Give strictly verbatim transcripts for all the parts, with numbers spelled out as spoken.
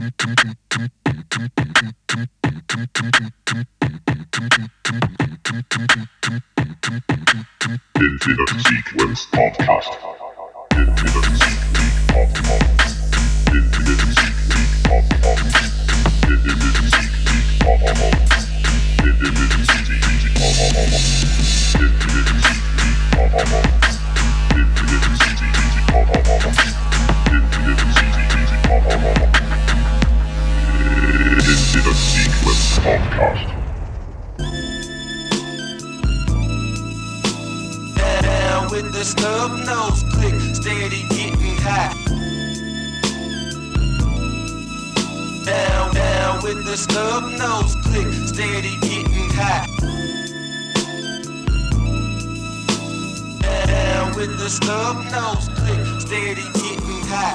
Infinite Sequence Podcast. Infinite Sequence Podcast. Infinite Sequence Podcast. Infinite Sequence Podcast. Infinite Sequence Podcast. Infinite Sequence Podcast. Infinite Sequence Podcast. Infinite Sequence Podcast. Infinite Sequence Podcast. With the snub nose click, steady getting high. Down, down with the snub nose click, steady getting high. Down with the snub nose click, steady getting high.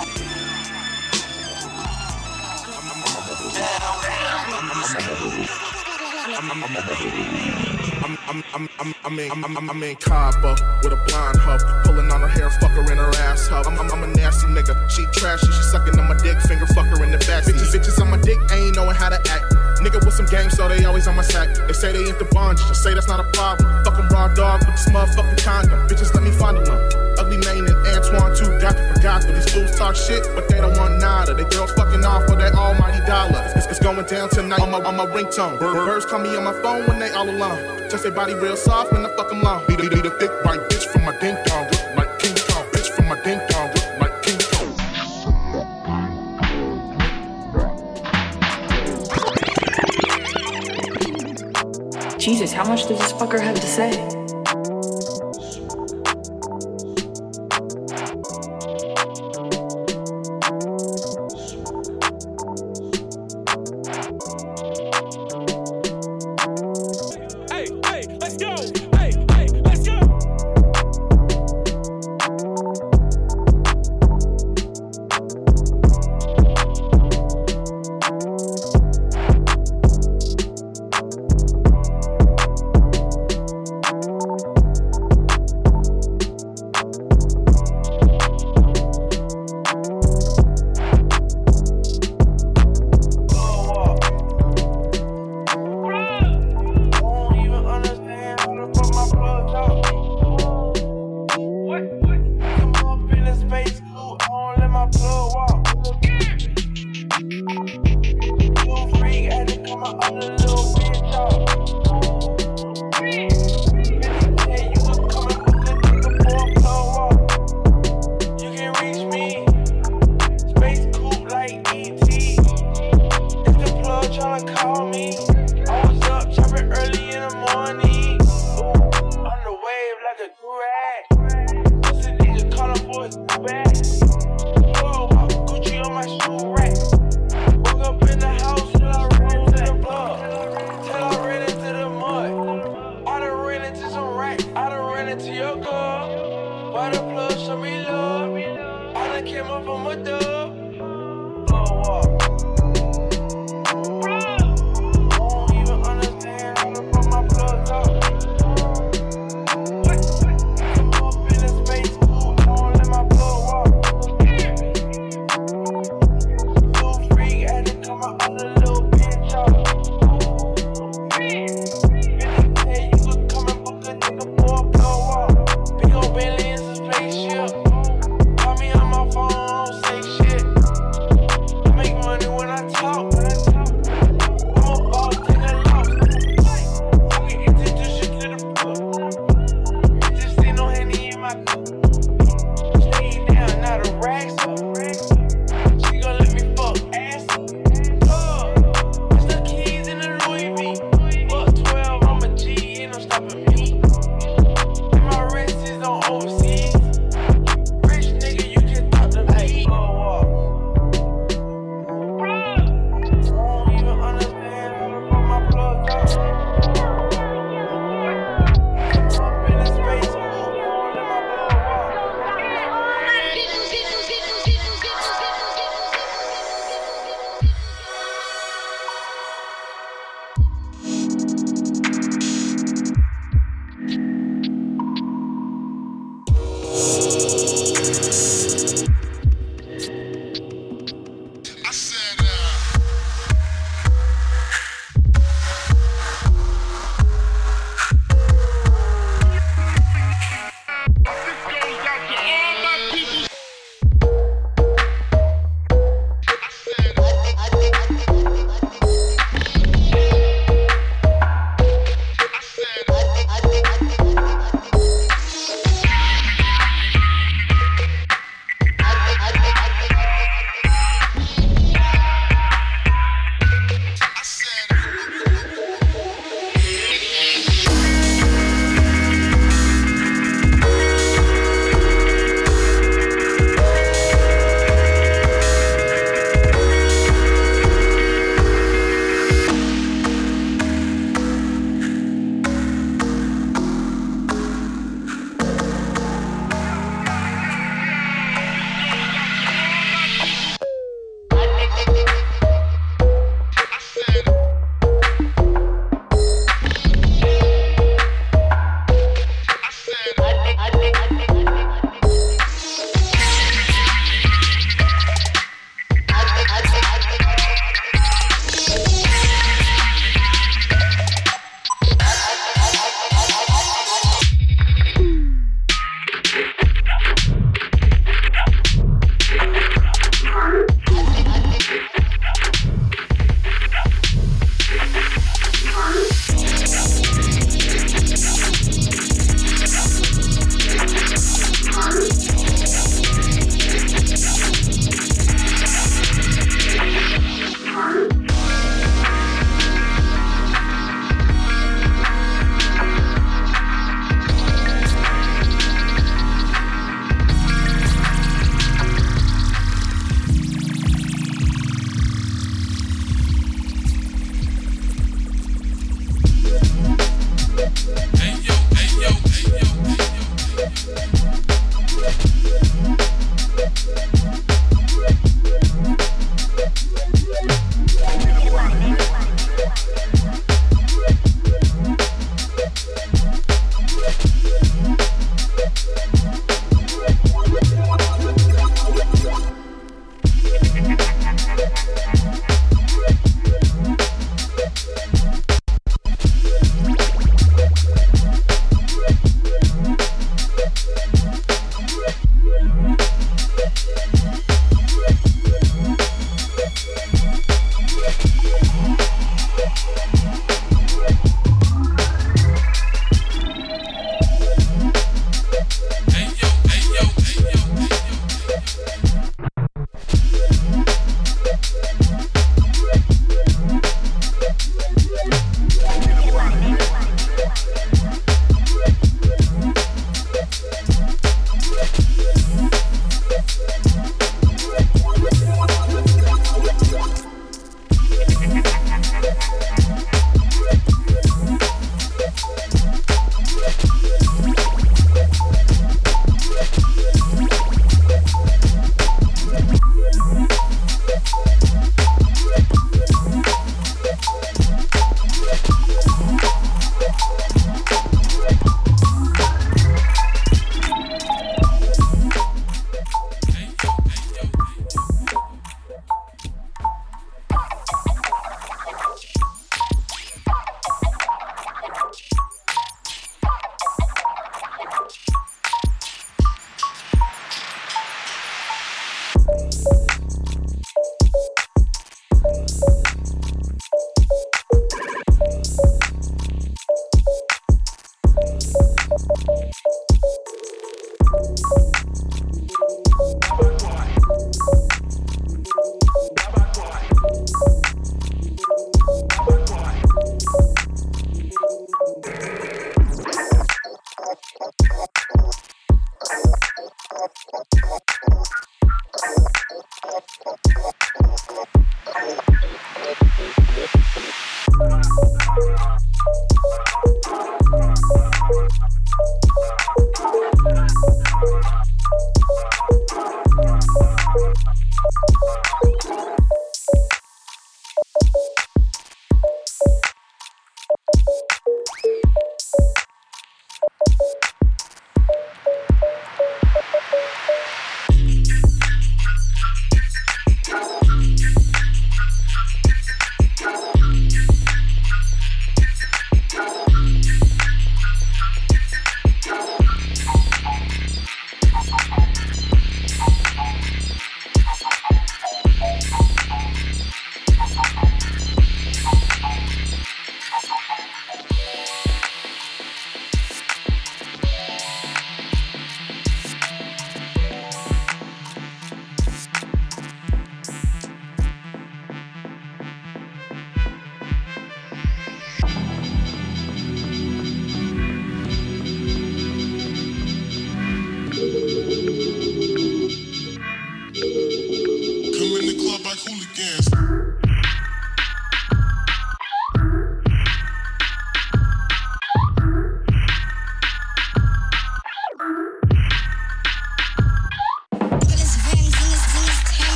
Down, down. I'm, I'm, I'm, I'm, I'm in, I'm, I'm, I'm in Cabo with a blonde hoe, pulling on her hair, fuck her in her ass hoe. I'm, I'm, I'm a nasty nigga, she trashy, she sucking on my dick, finger fuck her in the back. Bitches, bitches on my dick, ain't knowing how to act. Nigga with some game, so they always on my sack. They say they ain't the bond, just say that's not a problem. Fuck 'em raw dog with this motherfucking condom. Bitches, let me fondle them. Ugly Mane and Antoine too, got to forgot. But these fools talk shit, but they don't want nada. They girls fucking off for that almighty dollar. It's, it's going down tonight on my, on my ringtone. Bir- birds call me on my phone when they all alone. Just their body real soft when I fuck 'em long. Need a, need a thick white bitch from my ding dong, look like King Kong. Bitch from my ding dong, look like King Kong. Jesus, how much does this fucker have to say?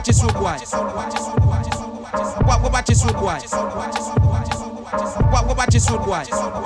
this road boy? What about this road boy? What about this road boy?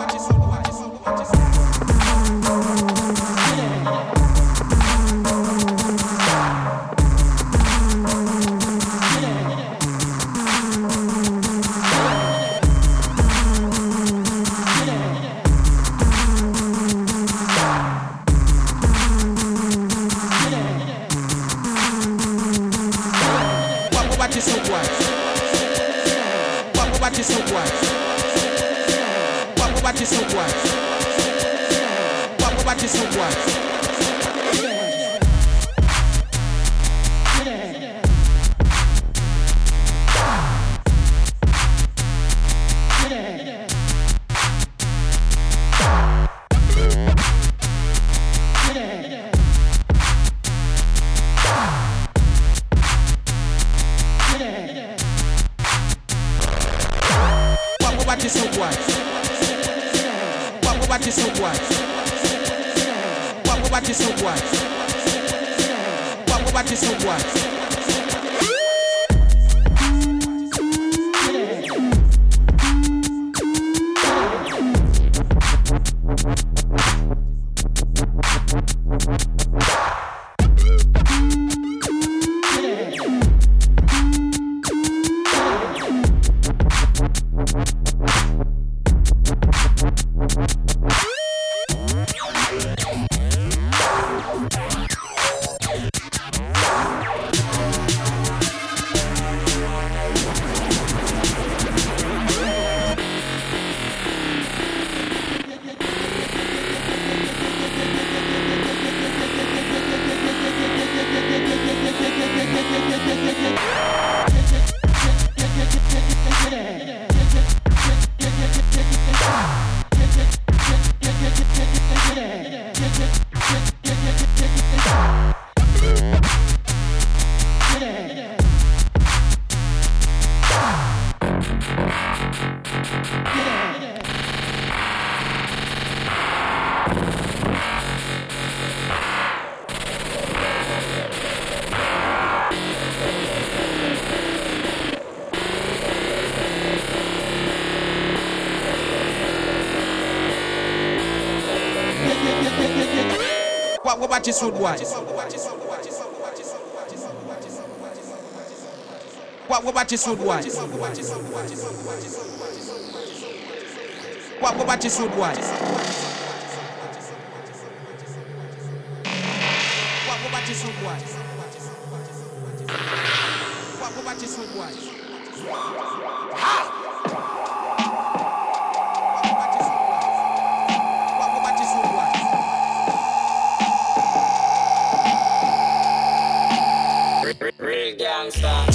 What about this road boy? What about this road boy? What about this road boy? What about this road boy? What about this road boy? Ha! Real gangsta.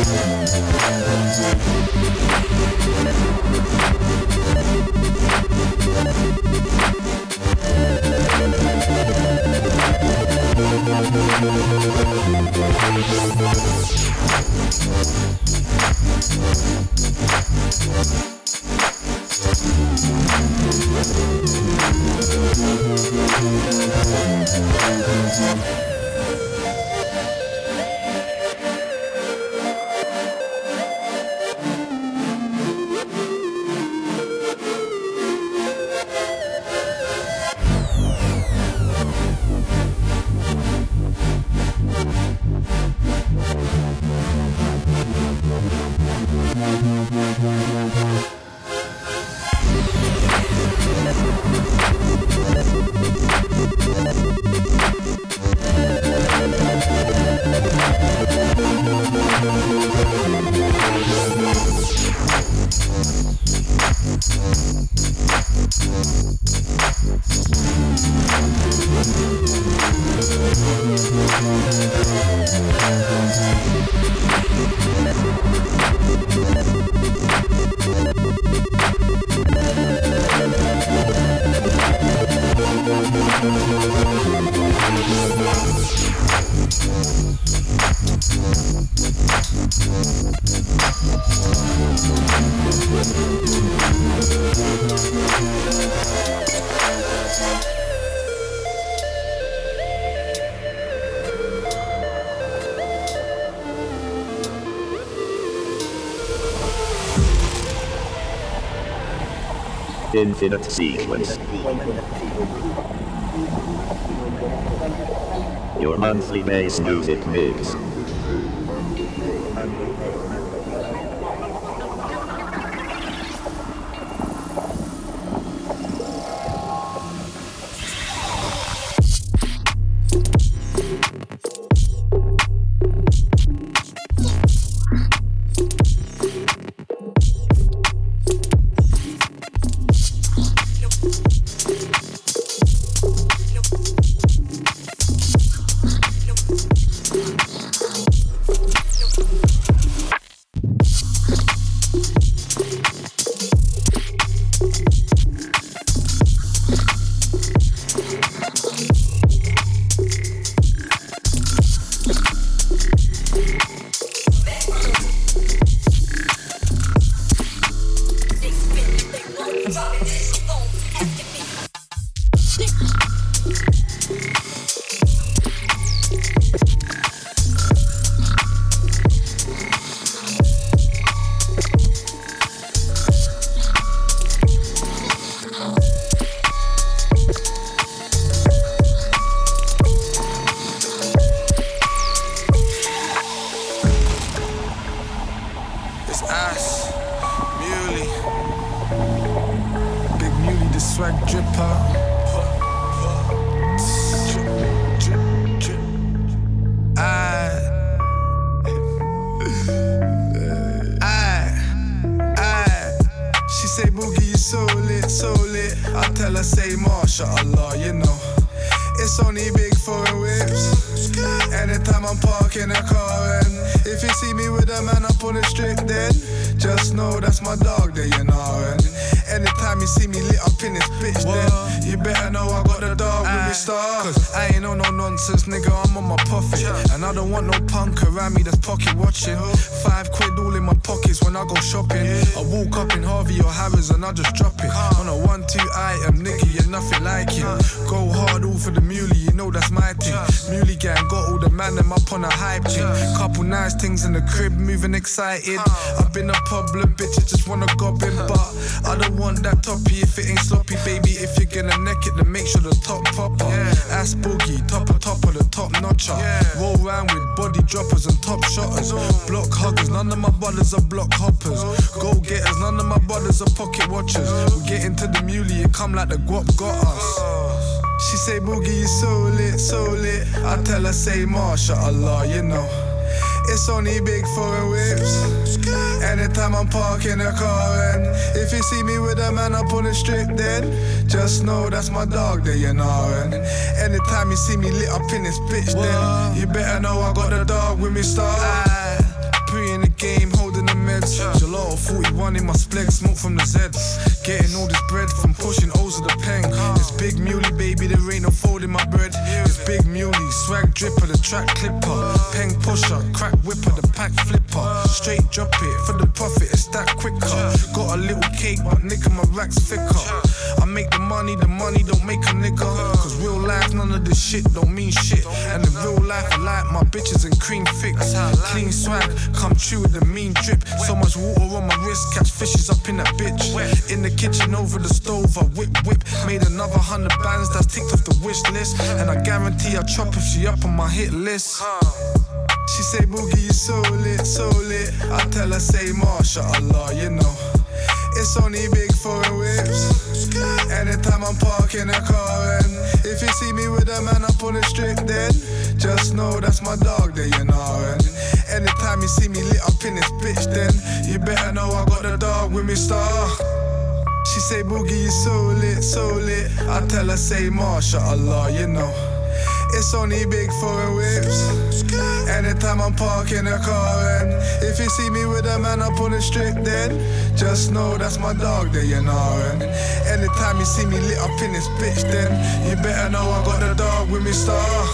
Infinite Sequence. Your monthly bass music mix. Excited. I've been a public bitch, I just wanna gob in, but I don't want that toppy if it ain't sloppy, baby. If you're gonna neck it, then make sure the top popper. Yeah. Ass boogie, top of top of the top notcher. Yeah. Roll round with body droppers and top shotters. No. Block huggers, none of my brothers are block hoppers. No. Go getters, none of my brothers are pocket watchers. No. We get into the muley, it come like the guap got us. She say, Boogie, you so lit, so lit. I tell her, say, MashaAllah, you know. It's only big foreign whips. Anytime I'm parking a car, and if you see me with a man up on the strip, then just know that's my dog there, you know. And anytime you see me lit up in this bitch, then you better know I got the dog with me, star. Pre in the bunny, my spleg, smoke from the Z. Getting all this bread from pushing O's of the pen. It's big muley, baby, there ain't no fold in my bread. It's big muley, swag dripper, the track clipper. Pen pusher, crack whipper, the pack flipper. Straight drop it, for the profit, it's that quicker. Got a little cake, but nigga, my rack's thicker. I make the money, the money don't make a nigga. Cause real life, none of this shit don't mean shit. And in real life, I like my bitches and cream fix. Clean swag, come true with the mean drip. So much water on my wrist, catch fishes up in that bitch. In the kitchen over the stove, I whip whip. Made another hundred bands that's ticked off the wish list. And I guarantee I'll chop if she up on my hit list. She say, Boogie, you so lit, so lit. I tell her, say, MashaAllah, you know. It's only big foreign whips. Anytime I'm parking a car, and if you see me with a man up on the strip, then just know that's my dog there, you know. And anytime you see me lit up in this bitch, then you better know I got the dog with me, star. She say, Boogie, you so lit, so lit. I tell her, say, MashaAllah, you know. It's only big foreign whips. Anytime I'm parking a car, and if you see me with a man up on the strip, then just know that's my dog there, you know. And anytime you see me lit up in this bitch, then you better know I got the dog with me, star.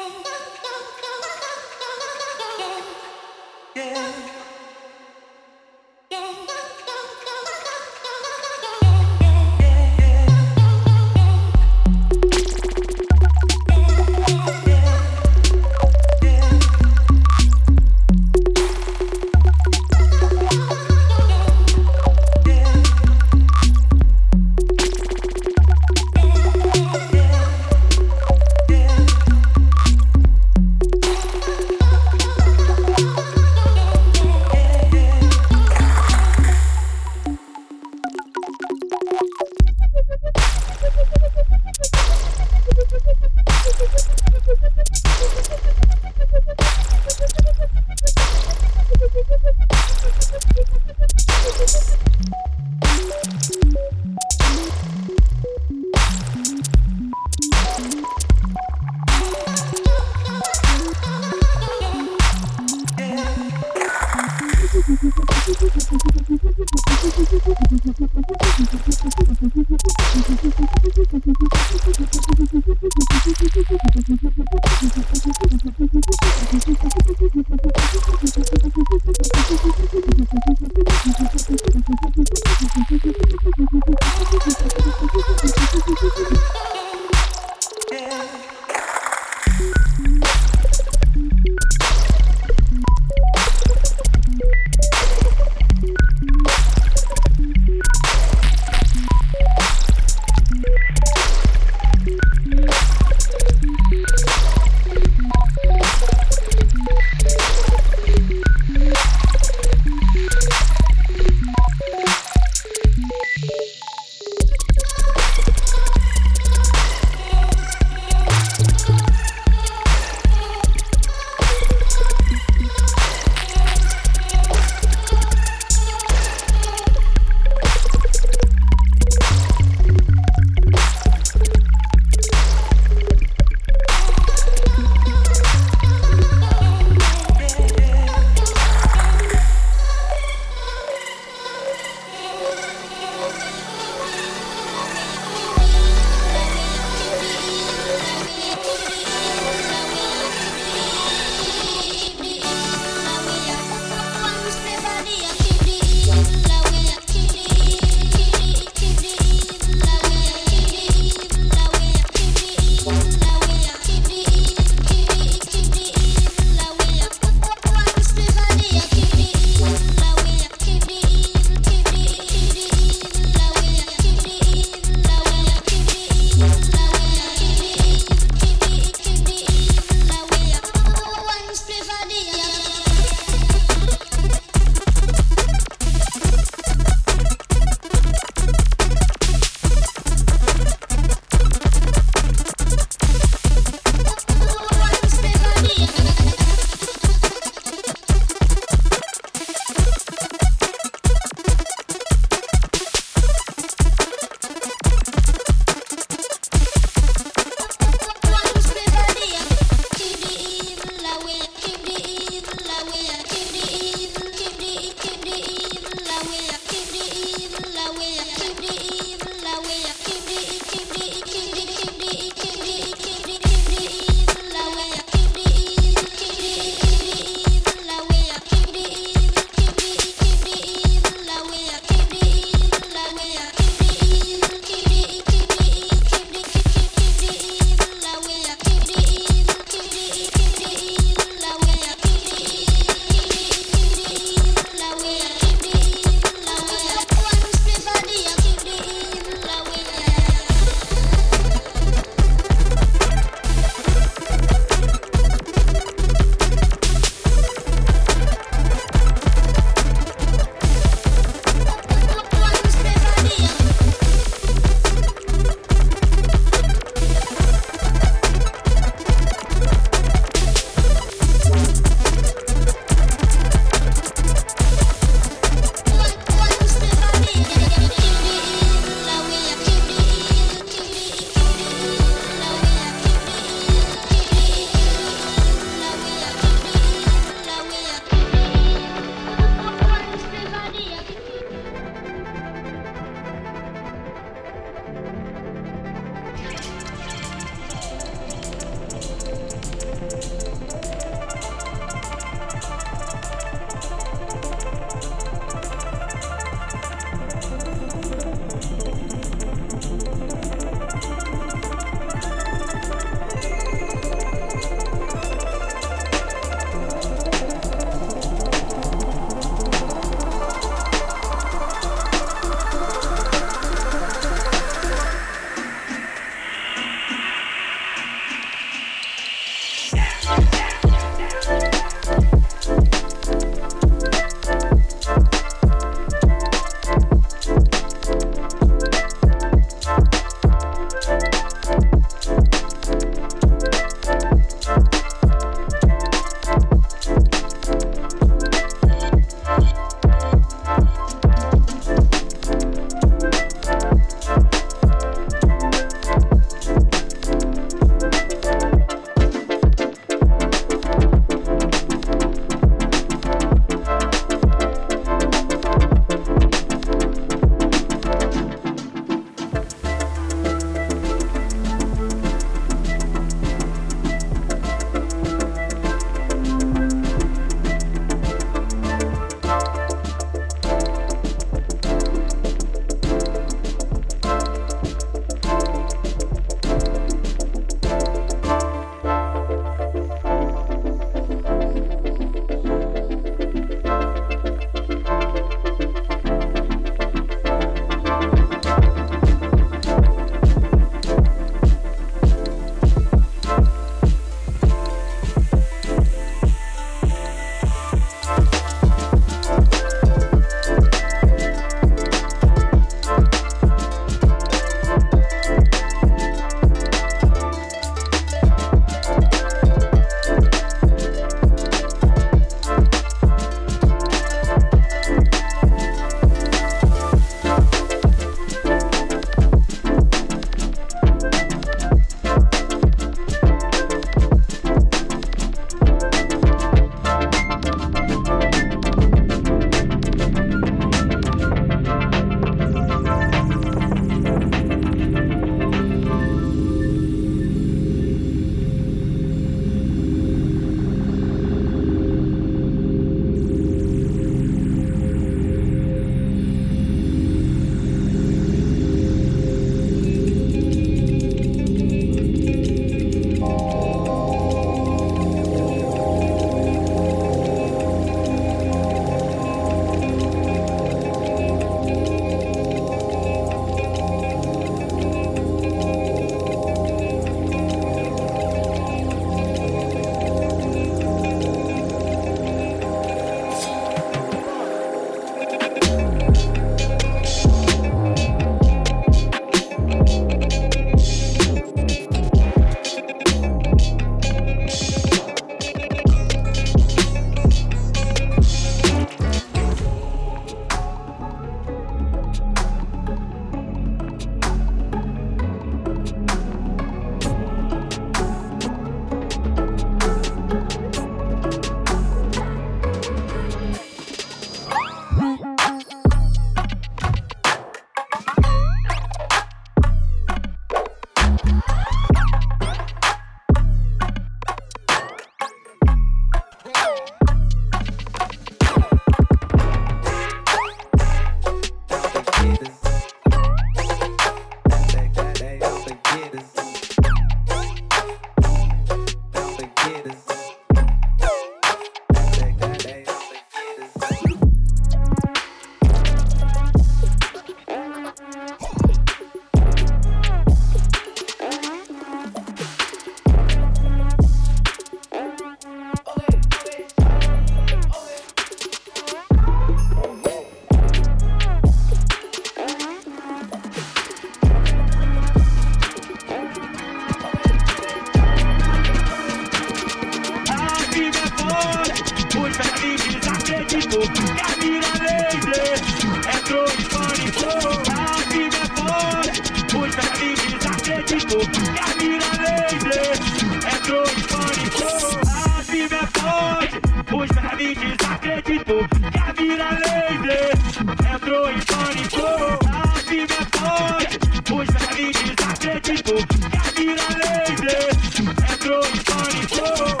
tipo, e a mira laser entrou em pânico. A vida é foda, os vermes desacreditou. E a mira laser entrou em pânico. A vida é foda, os vermes desacreditou. E a mira laser entrou em pânico. A vida é foda, os vermes desacreditou. E a mira laser entrou em pânico.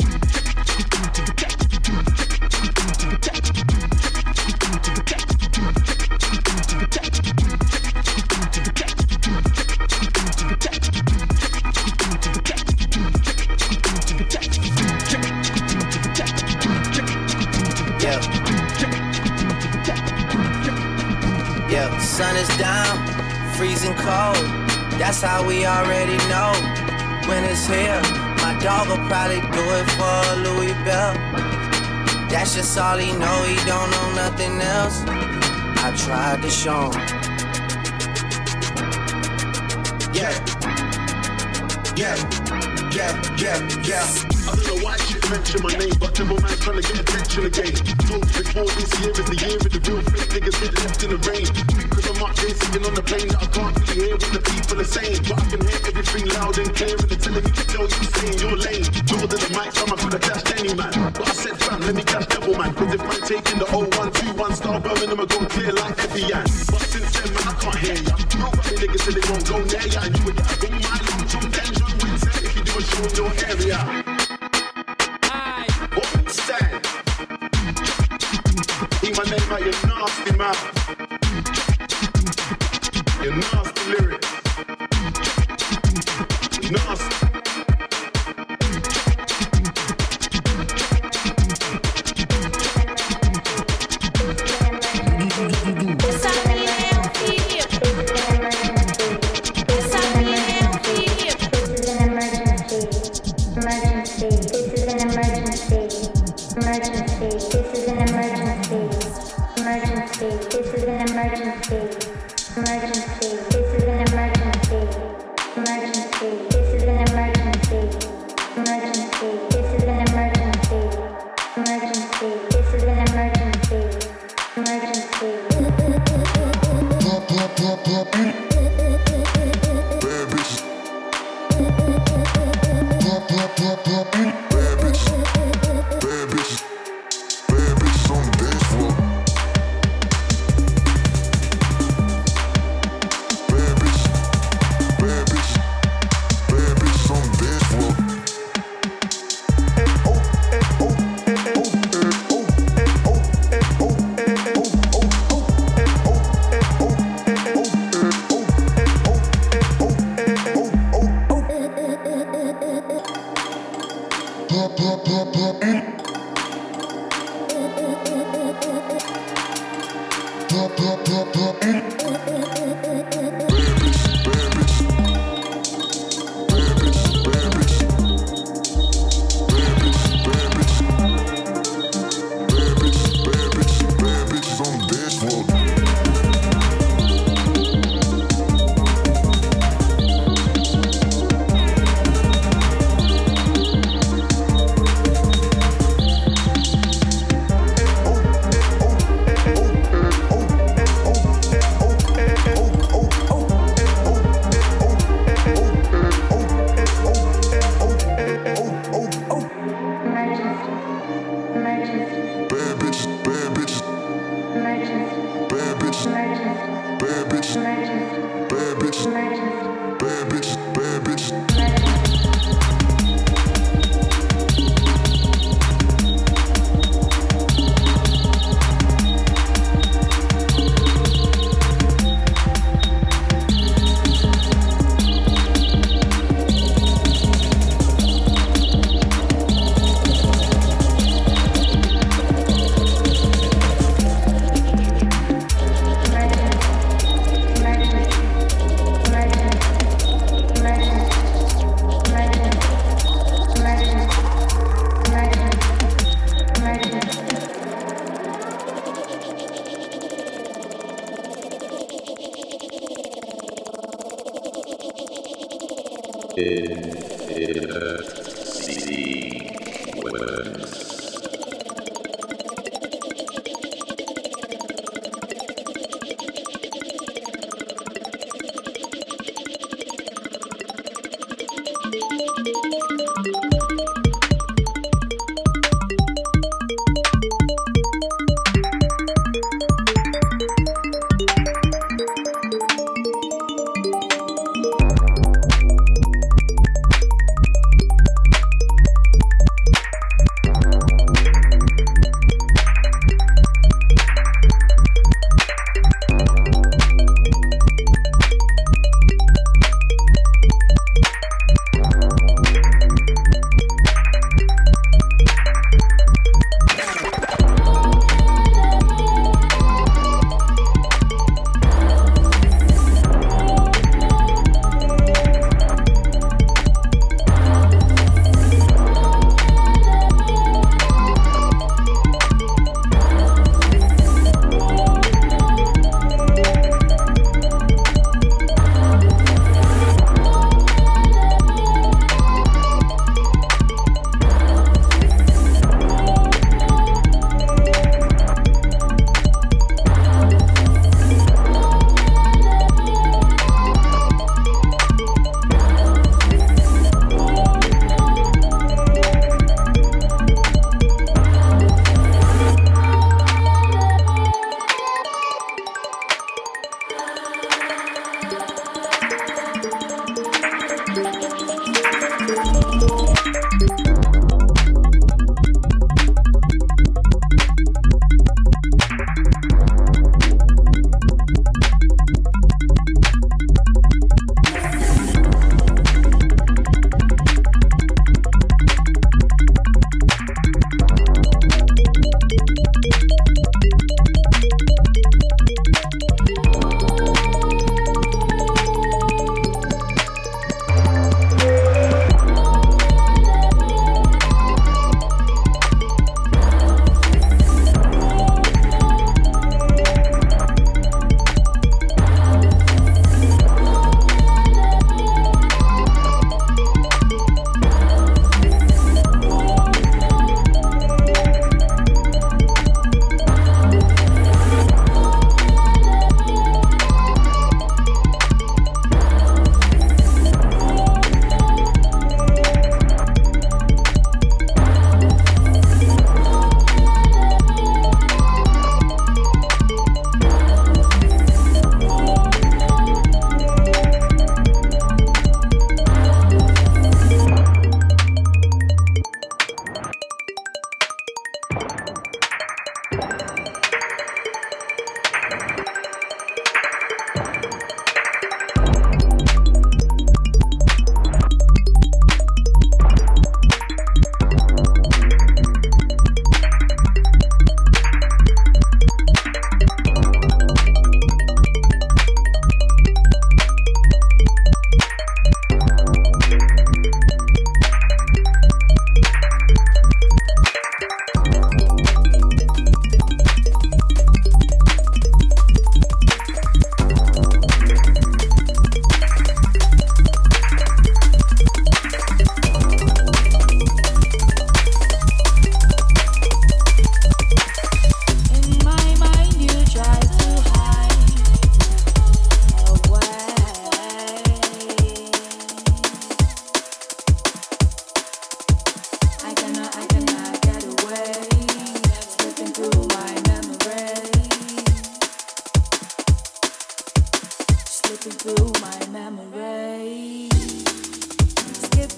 Sun is down, freezing cold. That's how we already know when it's here. My dog will probably do it for a Louis Bell. That's just all he know, he don't know nothing else. I tried to show him. Yeah, yeah, yeah, yeah, yeah. I don't know why shit mention my name, but Timber man's trying to get attention again. Told you before this year is the year of the real fake niggas get left in the rain. Because I'm up there sitting on the plane that I can't really hear what the people are saying. But I can hear everything loud and clear and they're telling me to tell you saying you're lame. More than the mic, so I could have dashed any man. But I said fam, let me catch double man. Cause if I'm taking the oh one two one star Birmingham, I'm going clear like Evian. But since then man, I can't hear ya. Nobody niggas said they won't go near ya. And you would get a go my long from danger and Wednesday if you do a show in your area. Stand. Hear my name out your nasty mouth. Your nasty lyrics. Nasty.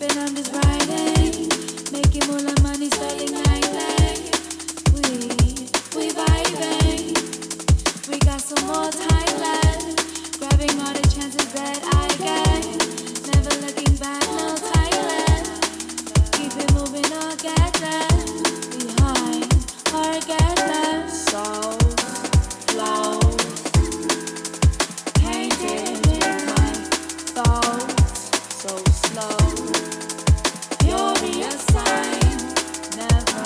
and I'm just riding. Making more like money, sterling nightly. We, we vibing. We got some more time left. Grabbing all the chances that I get. Never looking back, no time left. Keep it moving or get there. Behind or get there. So flow. Can't get in my thoughts so slow. You'll be a sign. Never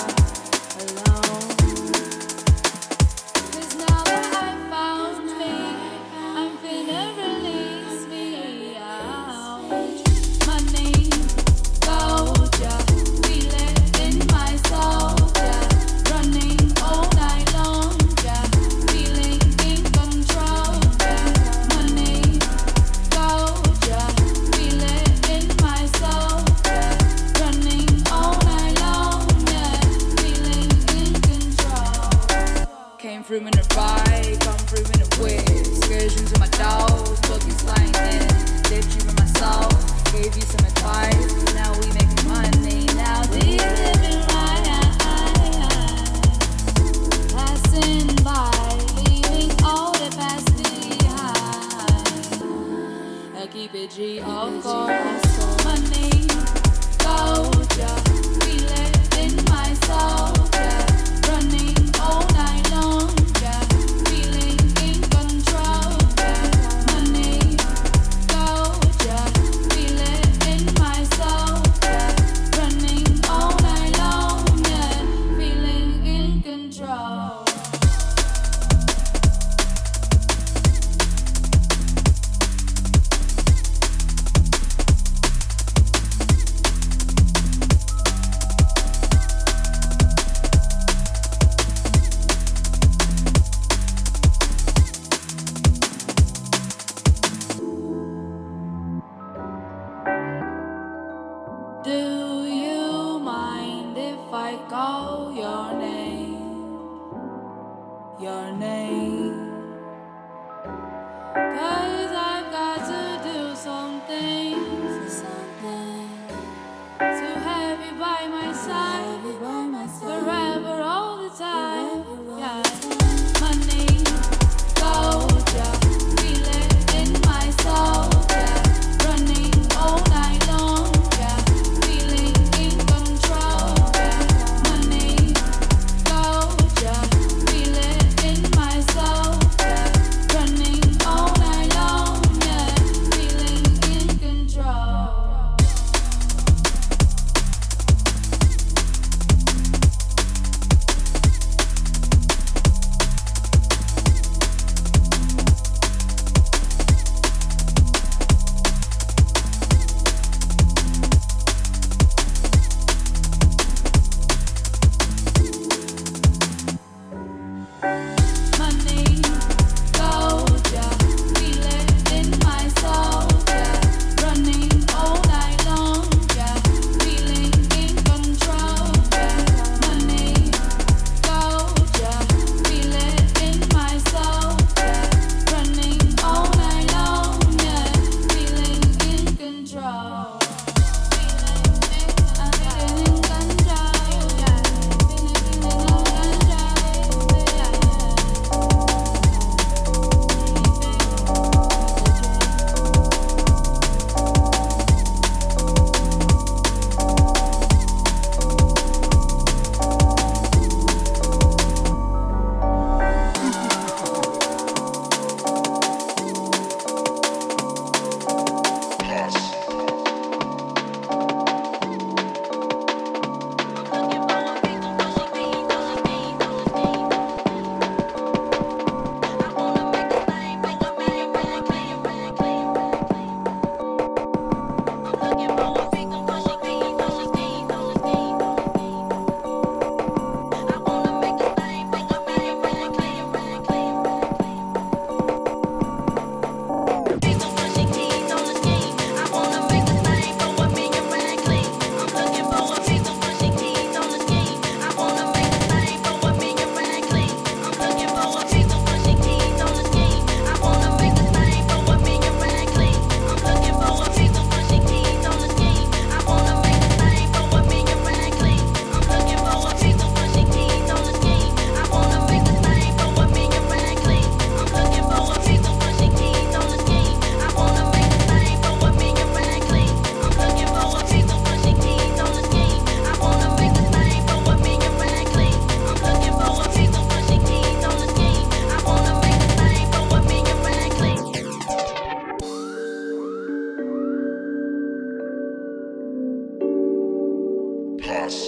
Podcast.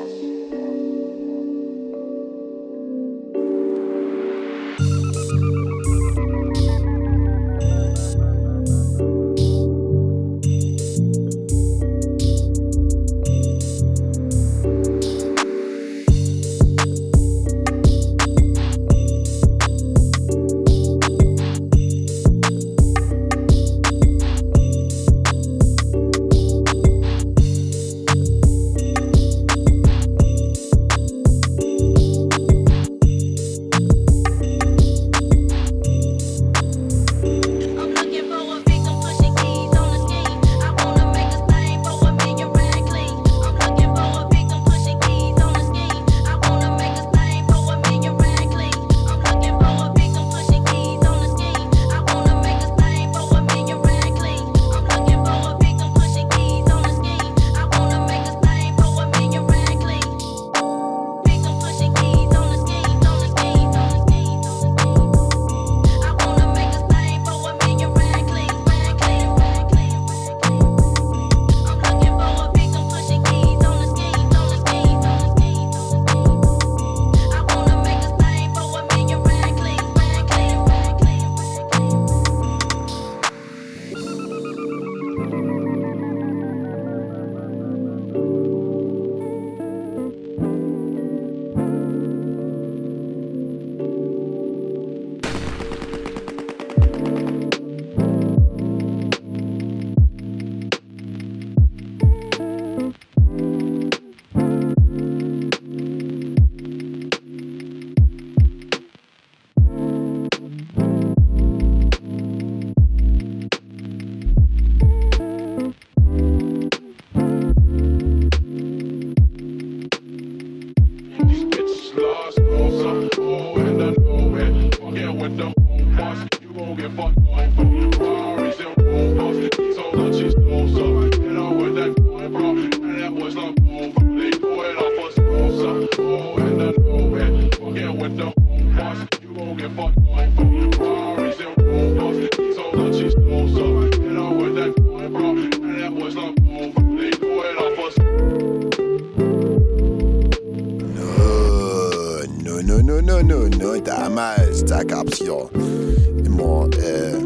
Damals, da gab's hier immer äh,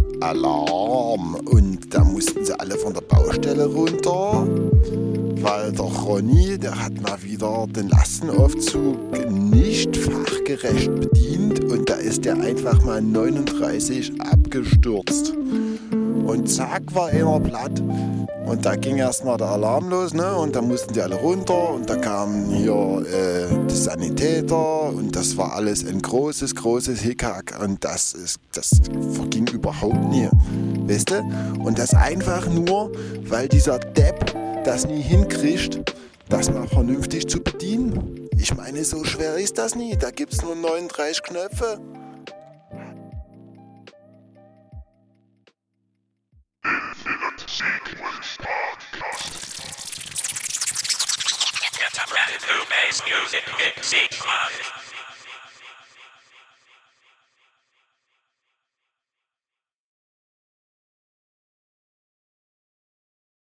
Alarm und da mussten sie alle von der Baustelle runter, weil der Ronny, der hat mal wieder den Lastenaufzug nicht fachgerecht bedient und da ist der einfach mal neununddreißig abgestürzt. Und zack war einer platt und da ging erstmal der Alarm los, ne? Und da mussten die alle runter und da kamen hier äh, die Sanitäter und das war alles ein großes, großes Hickhack und das ist, das verging überhaupt nie, weißt du? Und das einfach nur, weil dieser Depp das nie hinkriegt, das mal vernünftig zu bedienen. Ich meine, so schwer ist das nie, da gibt's nur neununddreißig Knöpfe. It's a brand new bass music mix sequence.